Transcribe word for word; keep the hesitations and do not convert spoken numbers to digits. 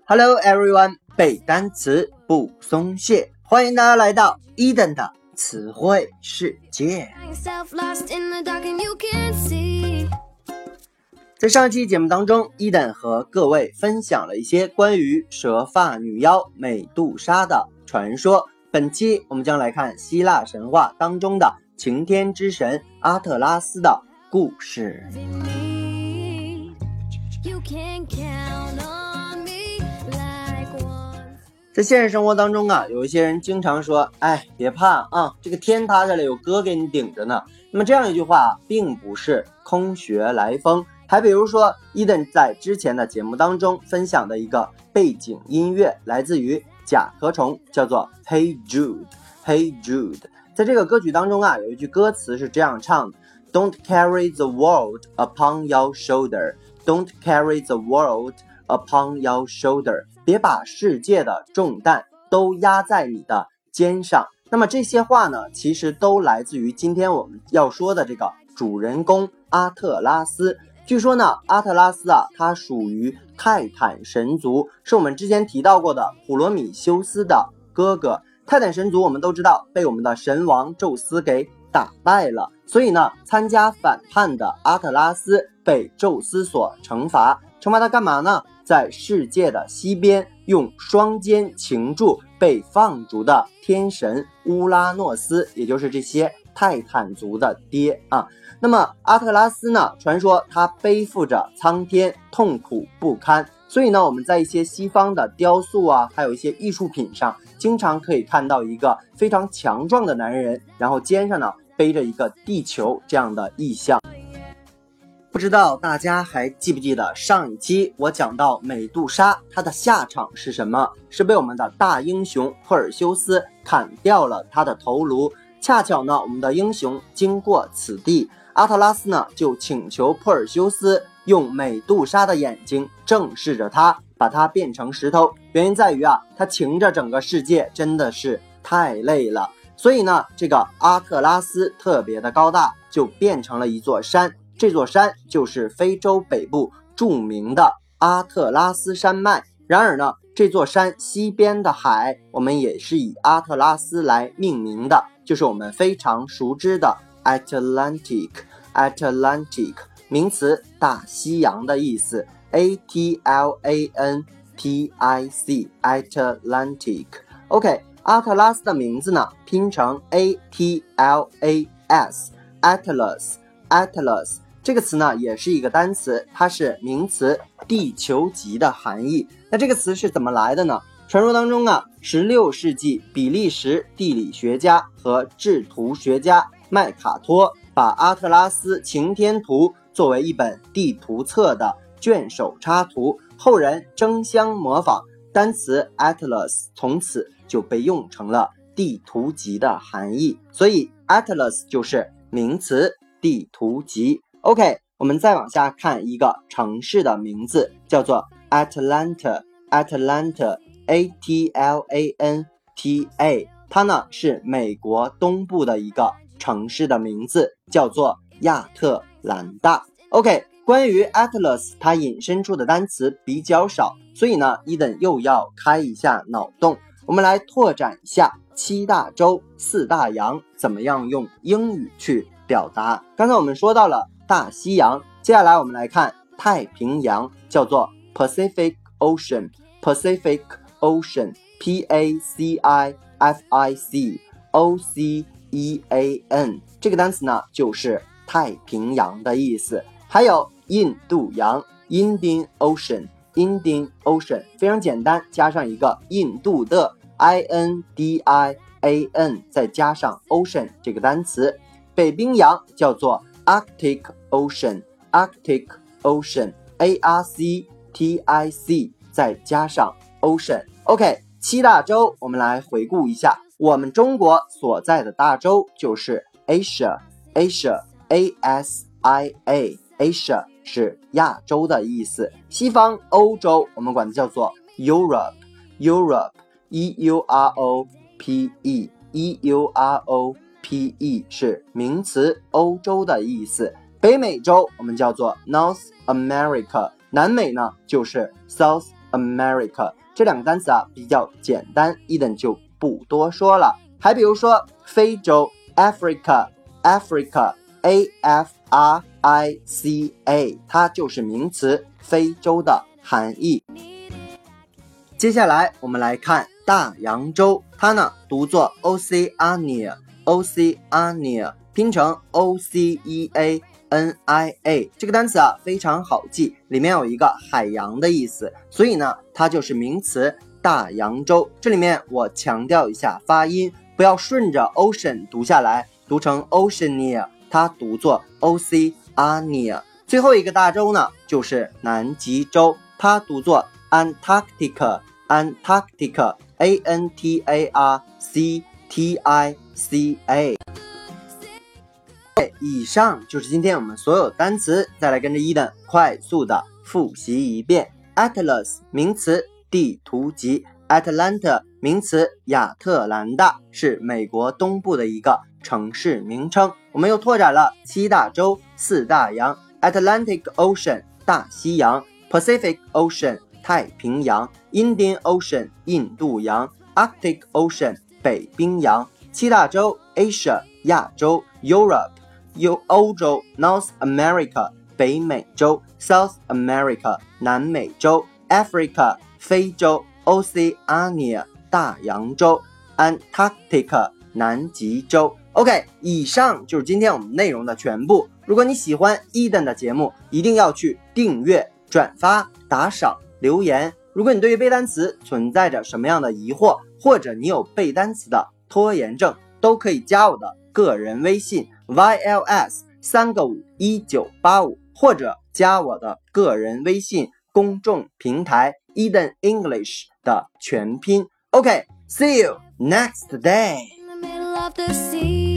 Hello everyone， 背单词不松懈，欢迎大家来到 Eden 的词汇世界。在上一期节目当中， Eden 和各位分享了一些关于蛇发女妖美杜莎的传说。本期我们将来看希腊神话当中的晴天之神阿特拉斯的故事。在现实生活当中啊，有一些人经常说，哎，别怕啊，这个天塌下来有哥给你顶着呢。那么这样一句话并不是空穴来风，还比如说 Eden 在之前的节目当中分享的一个背景音乐来自于甲壳虫，叫做 Hey Jude Hey Jude。 在这个歌曲当中啊，有一句歌词是这样唱的， Don't carry the world upon your shoulder Don't carry the world upon your shoulder， 别把世界的重担都压在你的肩上。那么这些话呢，其实都来自于今天我们要说的这个主人公阿特拉斯。据说呢，阿特拉斯啊，他属于泰坦神族，是我们之前提到过的普罗米修斯的哥哥。泰坦神族我们都知道被我们的神王宙斯给打败了，所以呢，参加反叛的阿特拉斯被宙斯所惩罚。惩罚他干嘛呢？在世界的西边，用双肩擒住被放逐的天神乌拉诺斯，也就是这些泰坦族的爹啊。那么阿特拉斯呢，传说他背负着苍天，痛苦不堪，所以呢，我们在一些西方的雕塑啊，还有一些艺术品上，经常可以看到一个非常强壮的男人，然后肩上呢背着一个地球这样的意象。不知道大家还记不记得上一期我讲到美杜莎她的下场是什么？是被我们的大英雄珀尔修斯砍掉了她的头颅。恰巧呢，我们的英雄经过此地，阿特拉斯呢就请求珀尔修斯用美杜莎的眼睛正视着他，把它变成石头。原因在于啊，他擎着整个世界真的是太累了，所以呢，这个阿特拉斯特别的高大，就变成了一座山。这座山就是非洲北部著名的阿特拉斯山脉。然而呢，这座山西边的海，我们也是以阿特拉斯来命名的，就是我们非常熟知的 Atlantic Atlantic， 名词大西洋的意思， A T L A N T I C Atlantic。 OK， 阿特拉斯的名字呢拼成 A T L A S Atlas Atlas，这个词呢也是一个单词，它是名词地球级的含义。那这个词是怎么来的呢？传说当中啊，十六世纪比利时地理学家和制图学家麦卡托把阿特拉斯擎天图作为一本地图册的卷首插图，后人争相模仿，单词 Atlas 从此就被用成了地图级的含义，所以 Atlas 就是名词地图集。 OK， 我们再往下看一个城市的名字，叫做 Atlanta Atlanta A T L A N T A， 它呢是美国东部的一个城市的名字，叫做亚特兰大。 OK， 关于 Atlas 它引申出的单词比较少，所以呢 Eden 又要开一下脑洞，我们来拓展一下七大洲四大洋怎么样用英语去表达。刚才我们说到了大西洋，接下来我们来看太平洋，叫做 Pacific Ocean Pacific Ocean P A C I F I C O C E A N， 这个单词呢就是太平洋的意思。还有印度洋 Indian Ocean Indian Ocean， 非常简单，加上一个印度的 I N D I A N， 再加上 Ocean 这个单词。北冰洋叫做 Arctic Ocean Arctic Ocean A R C T I C 再加上 Ocean。 OK， 七大洲我们来回顾一下，我们中国所在的大洲就是 Asia Asia A S I A Asia 是亚洲的意思。西方欧洲我们管它叫做 Europe Europe E U R O P E E U R O P E 是名词欧洲的意思。北美洲我们叫做 North America， 南美呢就是 South America 这两个单词啊比较简单，伊登就不多说了。还比如说非洲 Africa Africa A F R I C A 它就是名词，非洲的含义。接下来我们来看大洋洲，它呢读作 Oceania Oceania 拼成 O C E A N I A 这个单词啊非常好记，里面有一个海洋的意思，所以呢它就是名词大洋洲。这里面我强调一下发音，不要顺着 ocean 读下来，读成 Oceania， 它读作 Oceania。 最后一个大洲呢就是南极洲，它读作 Antarctica Antarctica A N T A R C T I C A。 以上就是今天我们所有单词，再来跟着伊登快速的复习一遍。 Atlas 名词，地图集。 Atlanta 名词，亚特兰大是美国东部的一个城市名称。我们又拓展了七大洲四大洋， Atlantic Ocean 大西洋， Pacific Ocean 太平洋， Indian Ocean 印度洋， Arctic Ocean 北冰洋。七大洲 Asia 亚洲， Europe 有欧洲， North America 北美洲， South America 南美洲， Africa 非洲， Oceania 大洋洲， Antarctica 南极洲。 OK， 以上就是今天我们内容的全部。如果你喜欢伊登的节目，一定要去订阅、转发、打赏、留言。如果你对于背单词存在着什么样的疑惑，或者你有背单词的拖延症，都可以加我的个人微信 Y L S 三个五一九八五，或者加我的个人微信公众平台 Eden English 的全拼。OK，see you next day.